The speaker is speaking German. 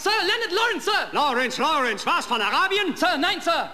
Sir, Leonard Lawrence, Sir! Lawrence, was, von Arabien? Sir, nein, Sir!